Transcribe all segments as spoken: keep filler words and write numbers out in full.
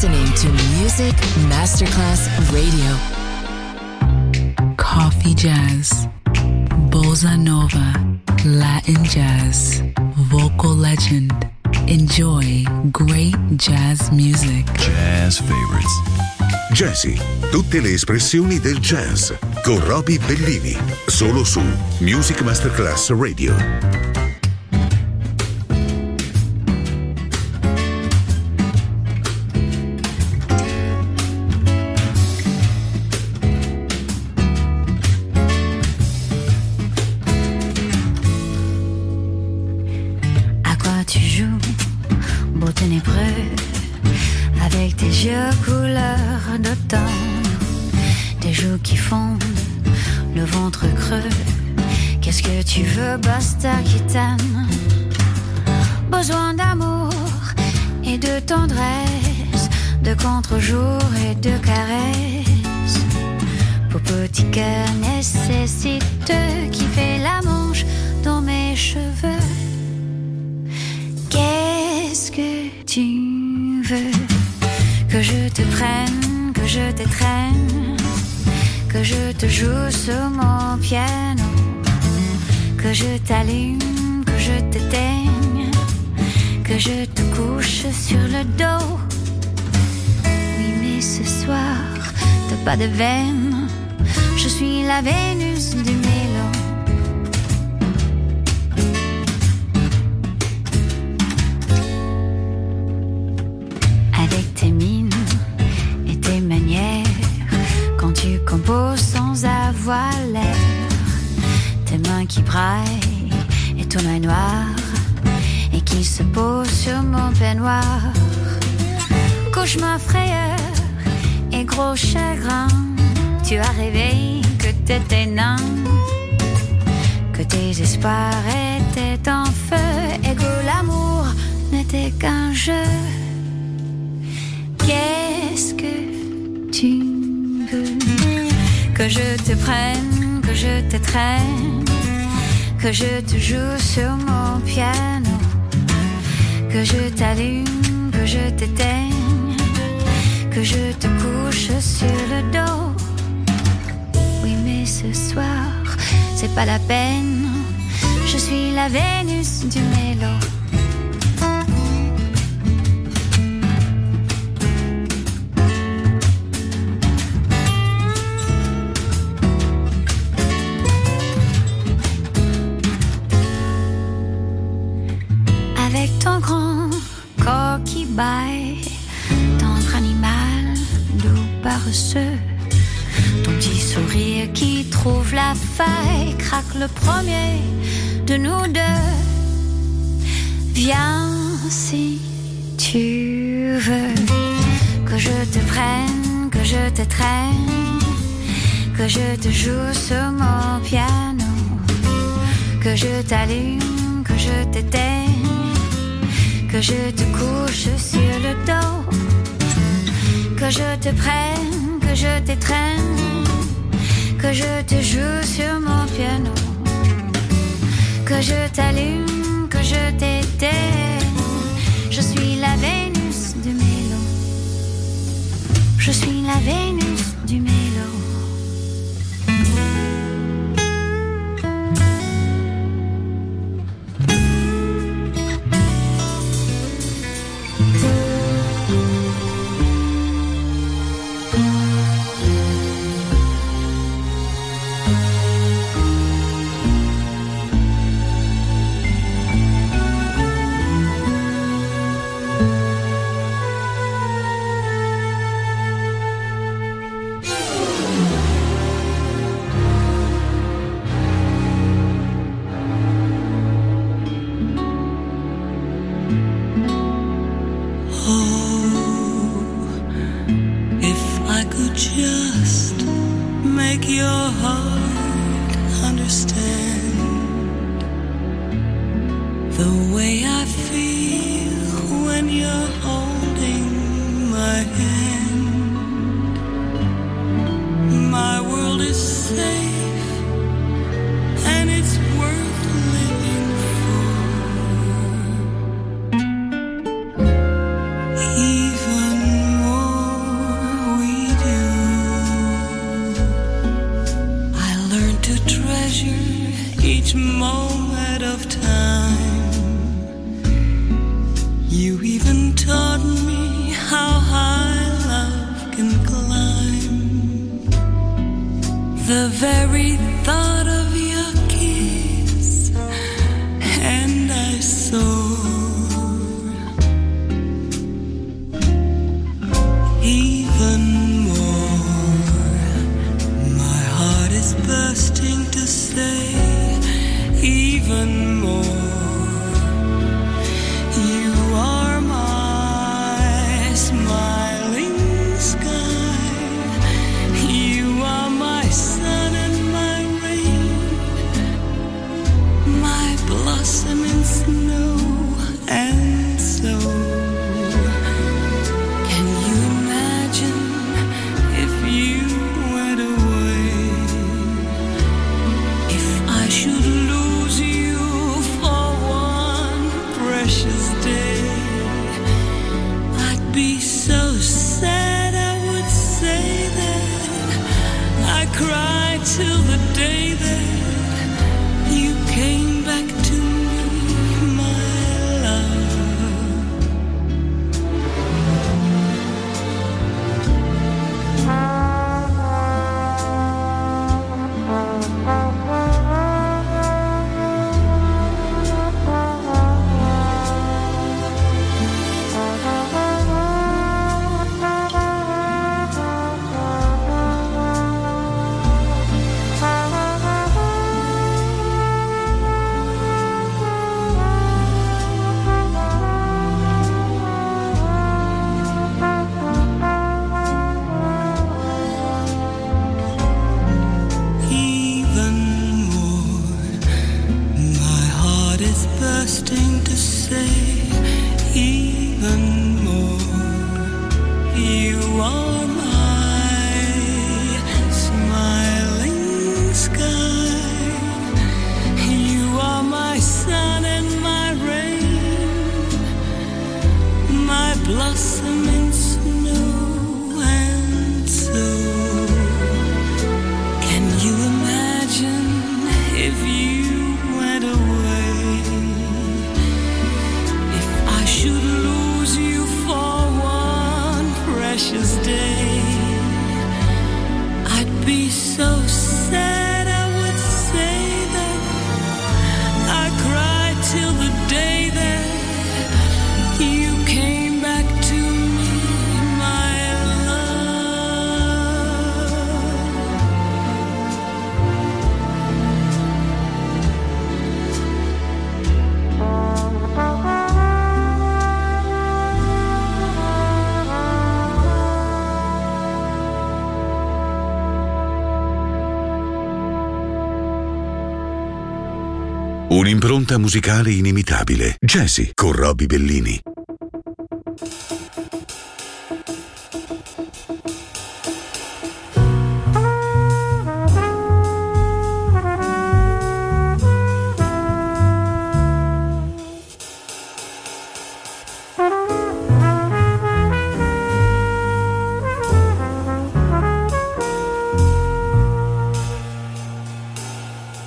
listening to Music Masterclass Radio. Coffee jazz, bossa nova, Latin jazz, vocal legend. Enjoy great jazz music. Jazz favorites. Jazzy, tutte le espressioni del jazz con Roby Bellini, solo su Music Masterclass Radio. À quoi tu joues, beau ténébreux, avec tes yeux couleur d'automne, tes joues qui fondent, le ventre creux. Qu'est-ce que tu veux, basta qui t'aime? Besoin d'amour et de tendresse, de contre-jour et de caresses. Pour petit cœur nécessiteux qui fait la manche dans mes cheveux. Qu'est-ce que tu veux? Que je te prenne, que je t'étreigne, que je te joue sur mon piano, que je t'allume, que je t'éteigne, que je te couche sur le dos. Oui, mais ce soir, t'as pas de veine, je suis la Vénus du mélo. Avec tes mines et tes manières, quand tu composes sans avoir l'air, tes mains qui braillent et ton œil noir, et qui se pose sur mon peignoir. Cauchemar, frayeur et gros chagrin, tu as rêvé que t'étais nain, que tes espoirs étaient en feu, et que l'amour n'était qu'un jeu. Qu'est-ce que tu veux? Que je te prenne, que je t'étreigne, que je te joue sur mon piano, que je t'allume, que je t'éteigne, que je te couche sur le dos. Oui, mais ce soir, c'est pas la peine, je suis la Vénus du mélo. Avec ton grand corps qui baille, tendre animal, doux paresseux, ton petit sourire qui trouve la faille, craque le premier de nous deux. Viens si tu veux, que je te prenne, que je te traîne, que je te joue sur mon piano, que je t'allume, que je t'éteigne, que je te couche sur le dos, que je te prenne, que je t'étreigne, que je te joue sur mon piano, que je t'allume, que je t'éteigne. Je suis la Vénus du mélo. Je suis la Vénus du mélo. Even more You even taught me how high love can climb. The very thought of your kiss, and I soar. Even more, my heart is bursting to say, even more. You are my smiling sky. You are my sun and my rain, my blossom in snow. And so, can you imagine if you went away? If I should lose you for one precious day, I'd be so sad I would say that I cried till the day that you came back to me, my love. Even more, my heart is bursting to say, even more. You are my smiling sky. You are my sun and my rain, my blossom in snow. And so, can you imagine if you went away? If I should lose you for one precious day, I'd be so sad I would say that I cried till the day that you came back to me, my love. Un'impronta musicale inimitabile. Jazzy con Roby Bellini.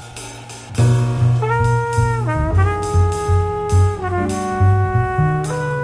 Thank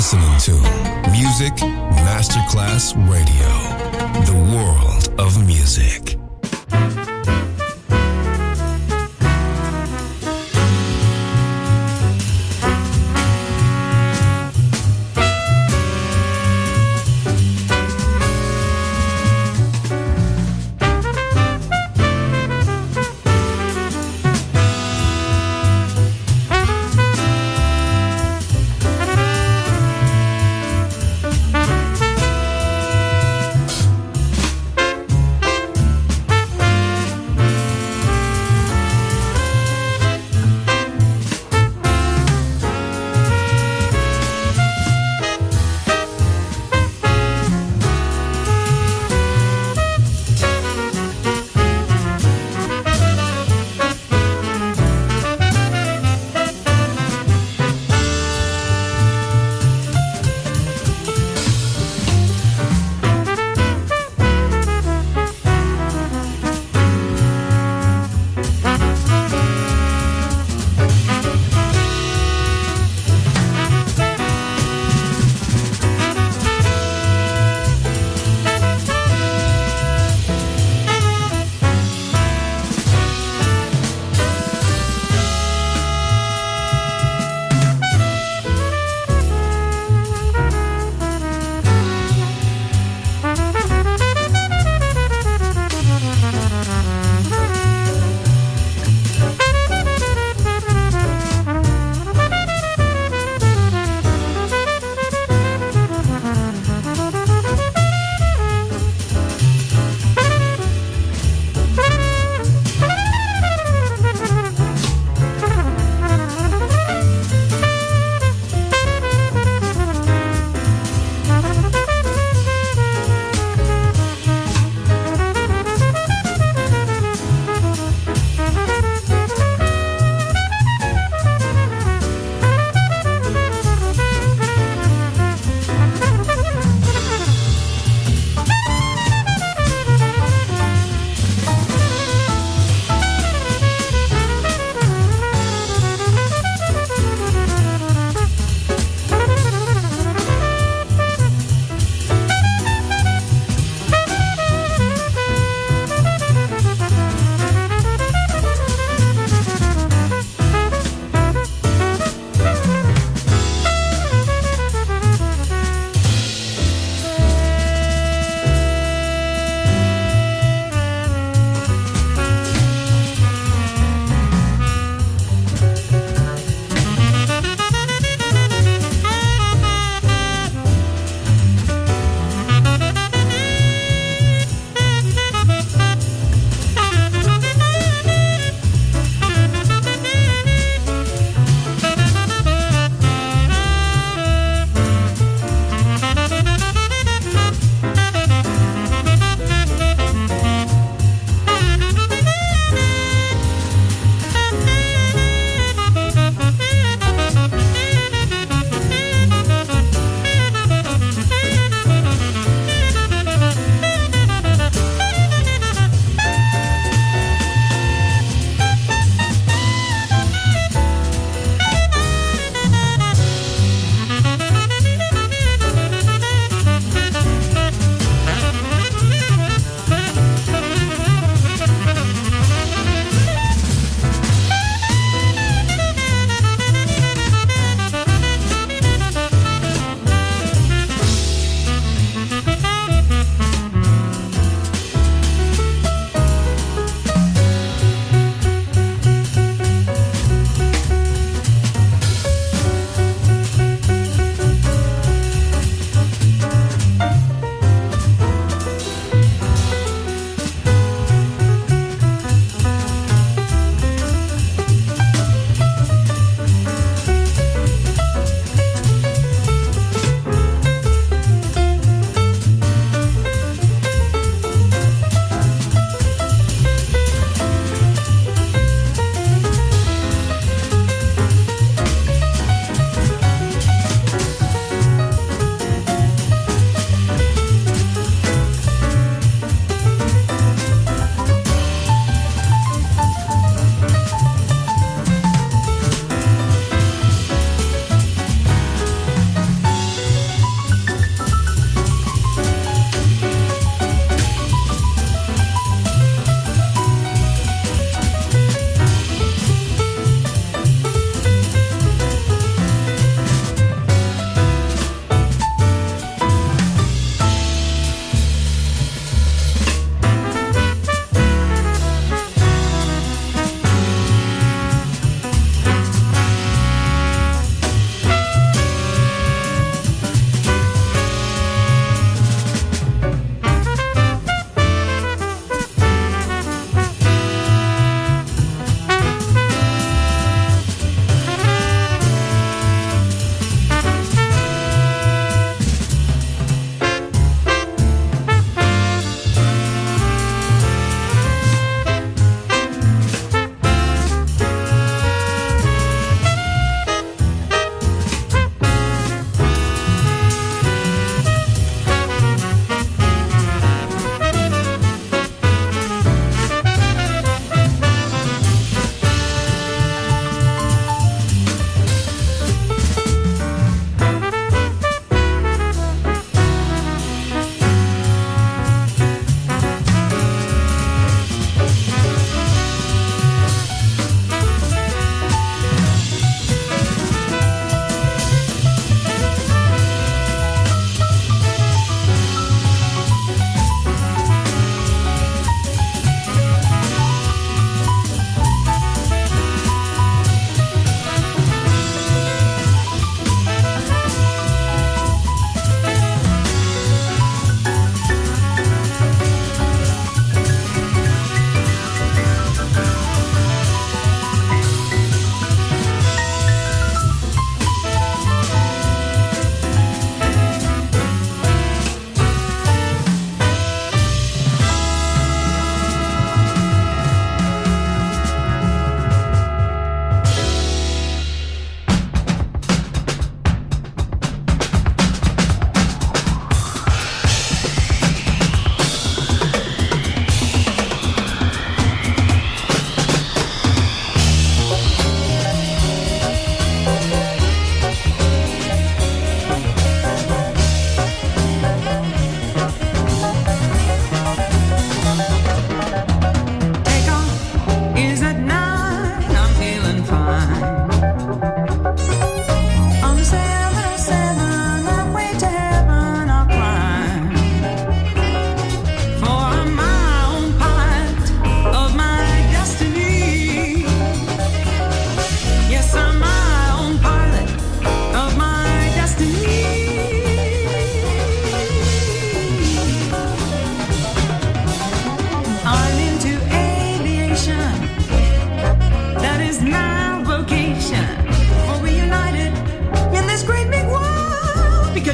listening to Music Masterclass Radio, the world of music.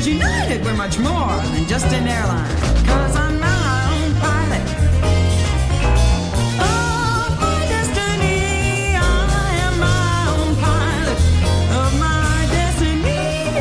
'Cause United, we're much more than just an airline. 'Cause I'm my own pilot. Of my destiny, I am my own pilot of my destiny.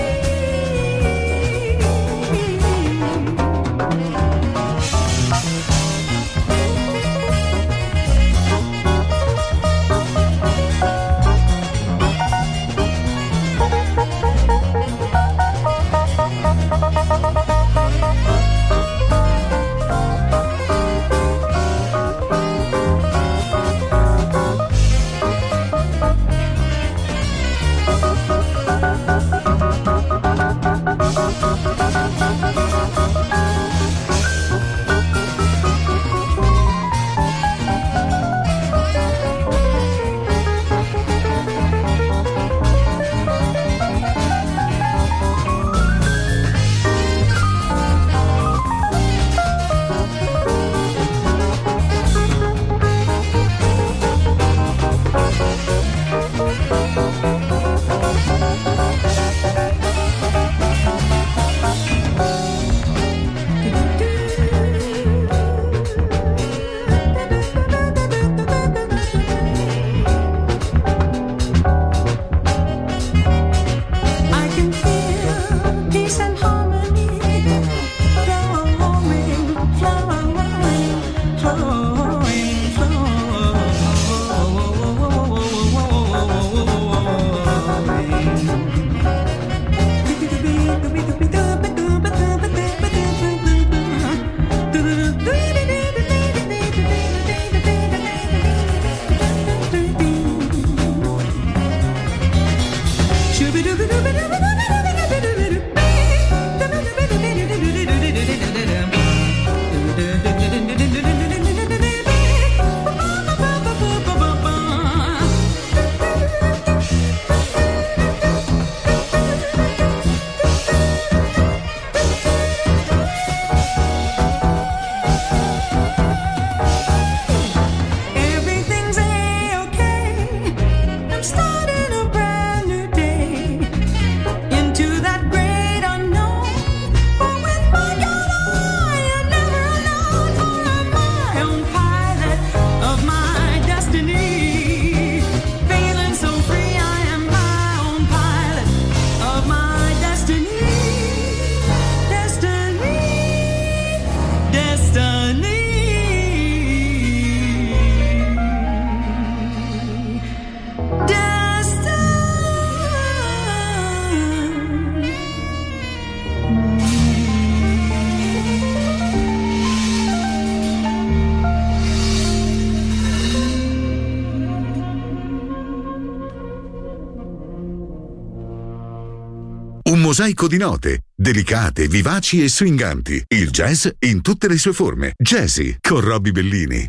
Un mosaico di note, delicate, vivaci e swinganti. Il jazz in tutte le sue forme. Jazzy con Robbie Bellini.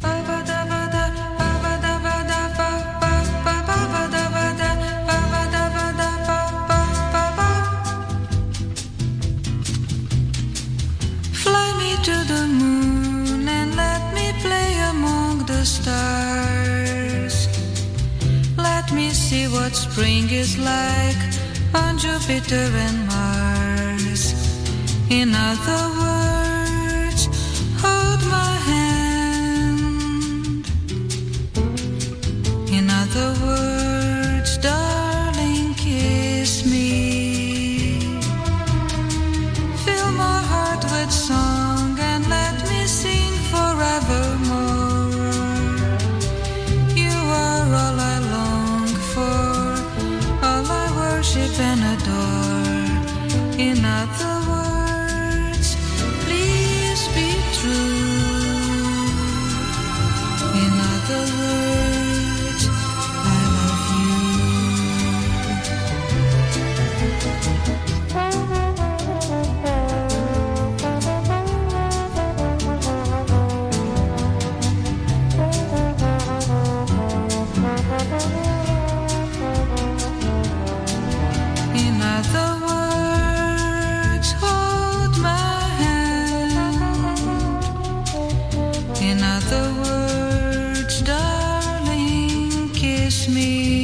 Fly me to the moon and let me play among the stars. Let me see what spring is like on Jupiter and Mars. In other words, hold my hand. In other words, darling, kiss me. Fill my heart with song and let me sing forevermore. You are all I long for, all I worship and adore. In other words, please be true. In other words, I love In other words, hold my hand. In other words, darling, kiss me.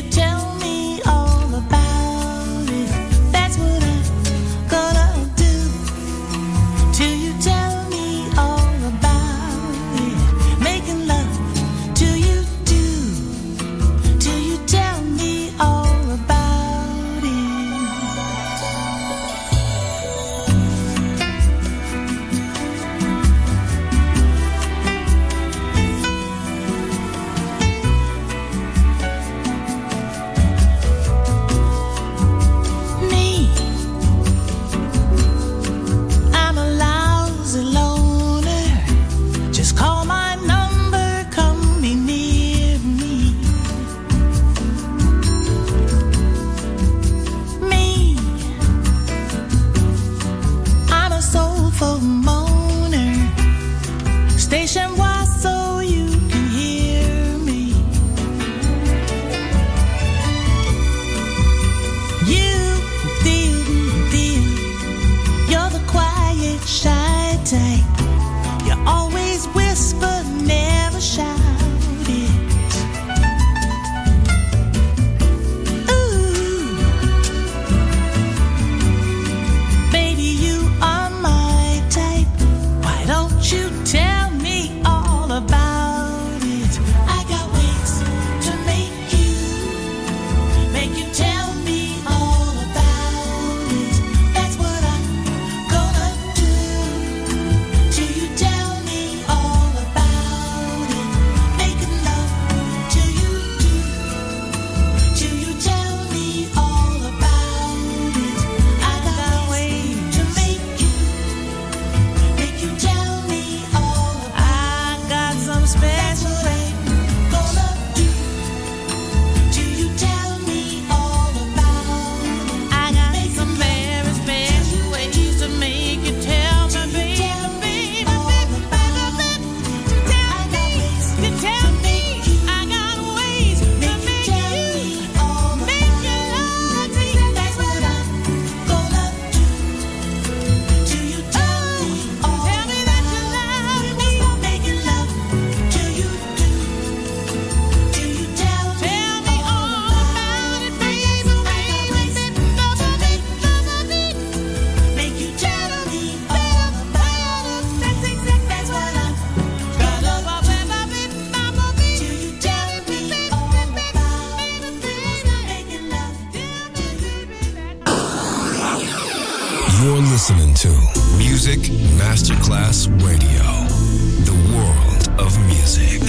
you tell me all about it? That's what I'm gonna do. Till you tell me all about it. Making love till you do. Till you tell me all about it. Me, I'm a lousy loner. Just call my number, come be near me. Me, I'm a soulful moaner. Station wide so you can hear me. You, dear, dear, you're the quiet, shy type. You always whisper, never shout it. Ooh, baby, you are my type. Why don't you tell me all about it? I got ways to make you, make you tell me all about it. That's what I'm gonna do. Till you tell me all about it. Making love till you do. Till you tell me all about it. I got ways to make you, make you tell me all about it. I got some special way gonna do. Till you tell me all about it. I got some very special ways to make you tell me, baby, baby, baby, tell me, you tell me. I got ways to make you, make you love me. That's what I'm gonna do. Till you tell me all tell me that you love me. Making love till you do. Till you tell me all about it, baby, baby, make you tell me all about it. That's exactly that's what I'm gonna do. Till you tell me all about it, making love till you do. You're listening to Music Masterclass Radio, the world of music.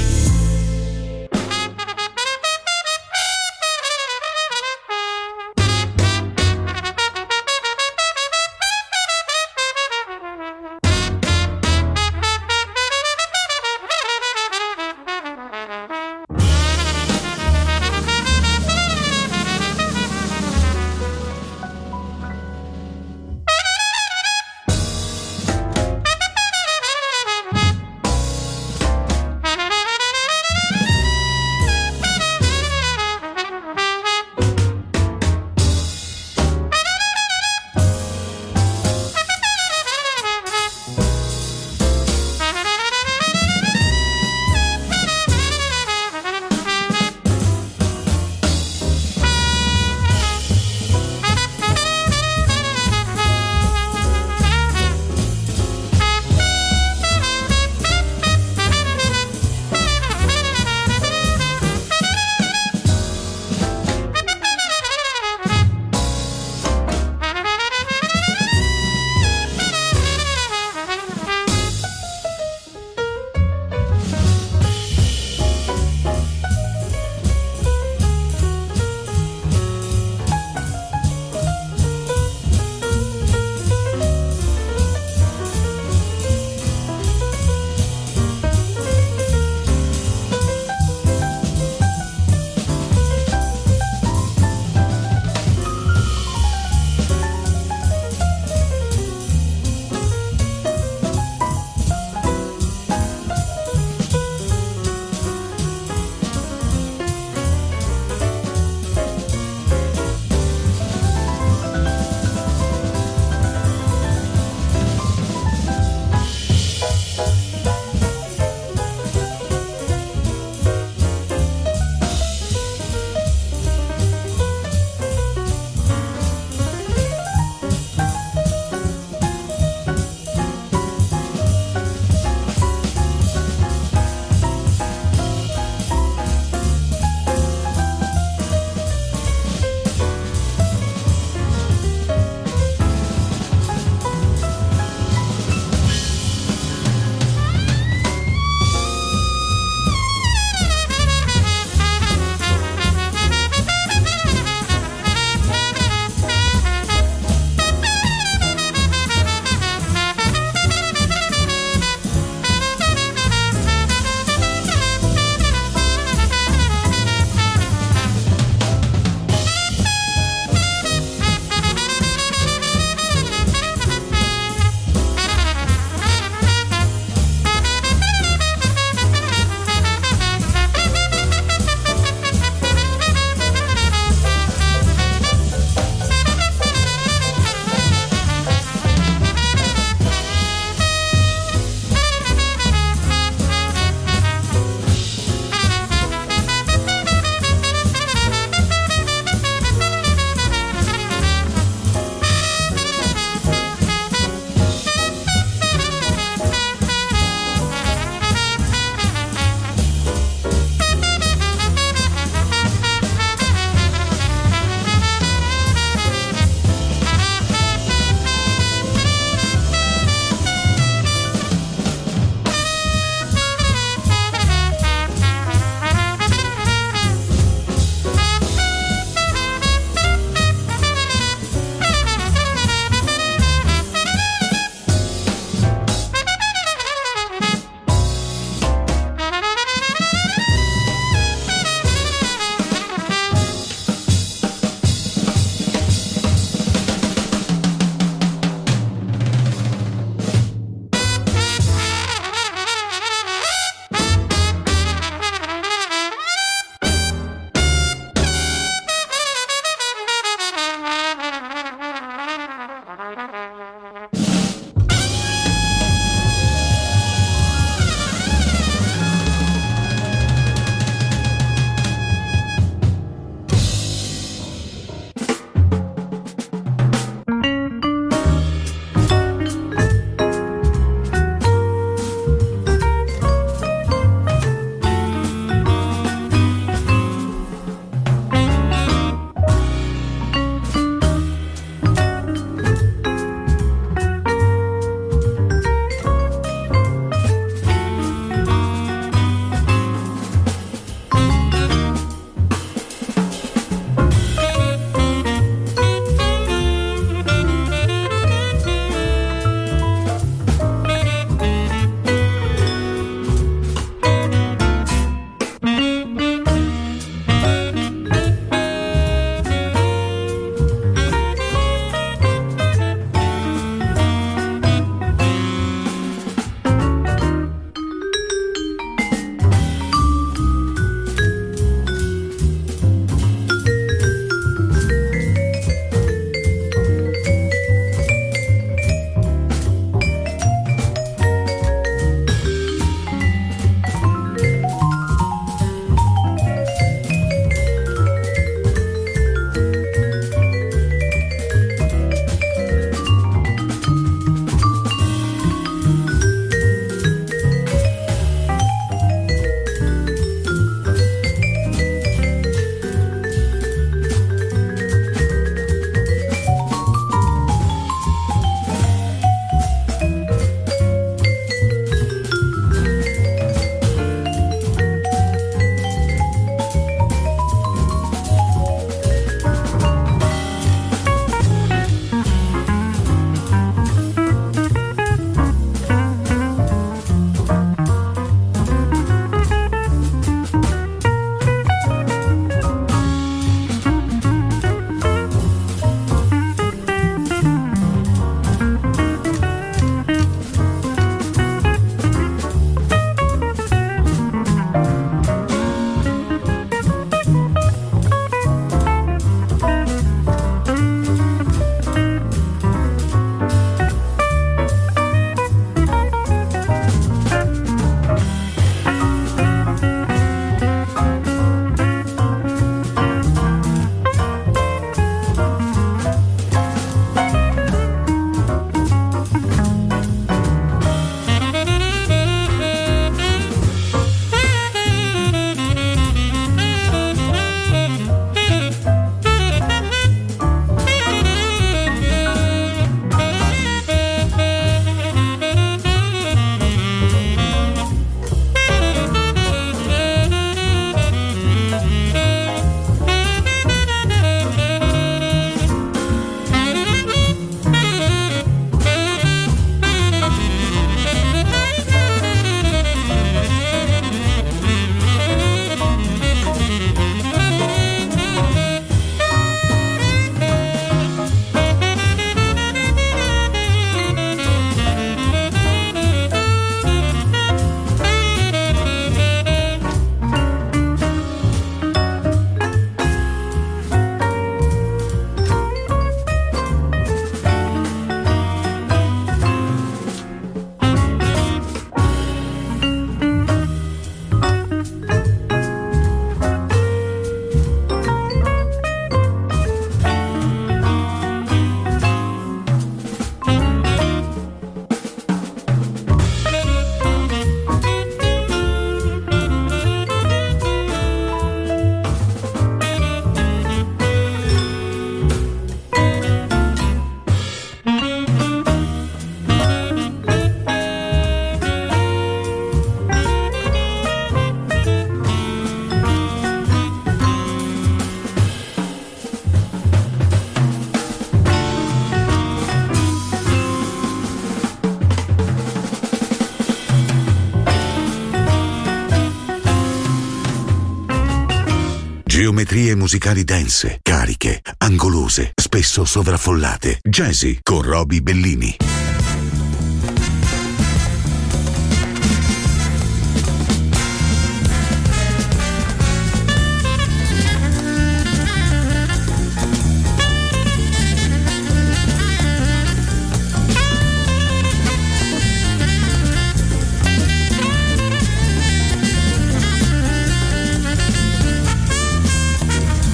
Geometrie musicali dense, cariche, angolose, spesso sovraffollate. Jazzy con Roby Bellini.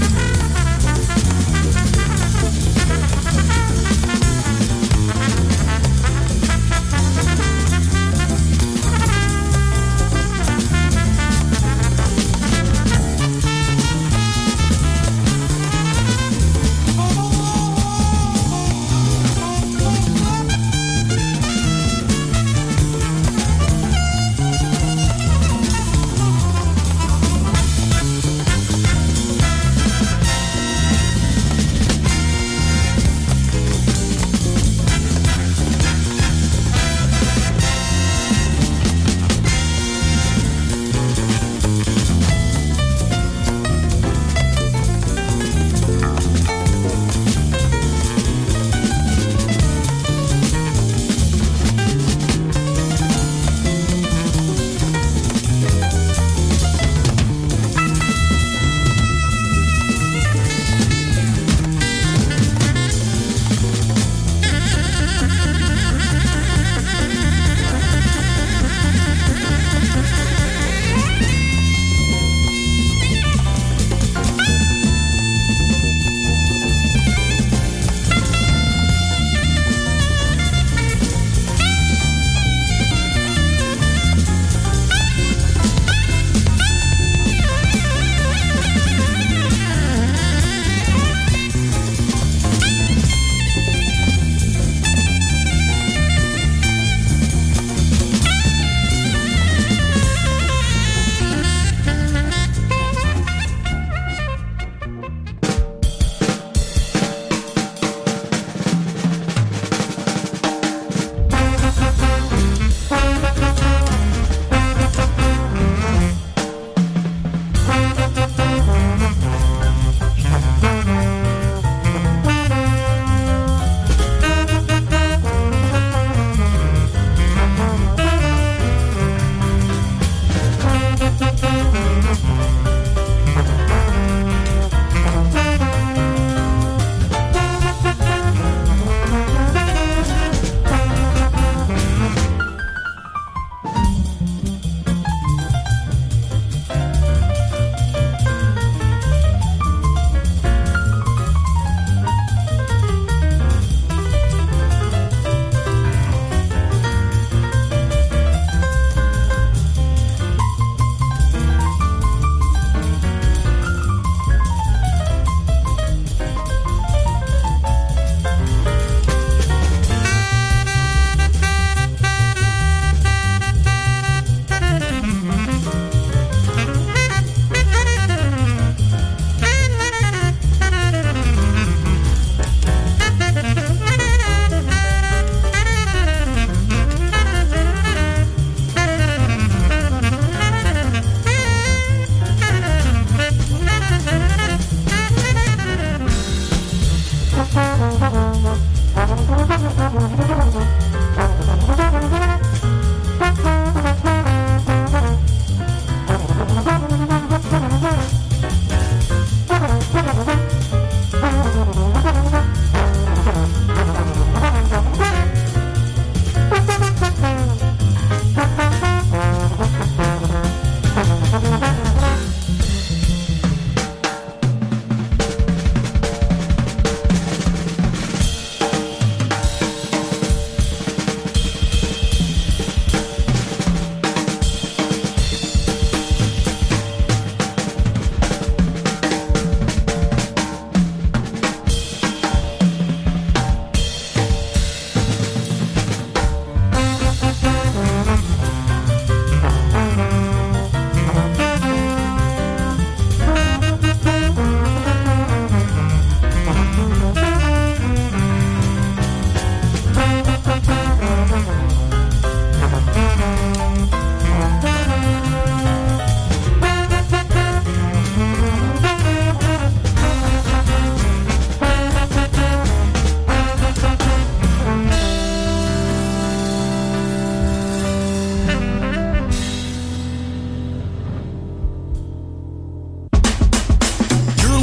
Thank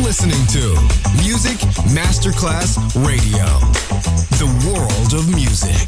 listening to Music Masterclass Radio, the world of music.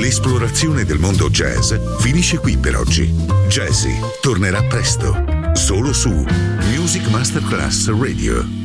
L'esplorazione del mondo jazz finisce qui per oggi. Jazzy tornerà presto, solo su Music Masterclass Radio.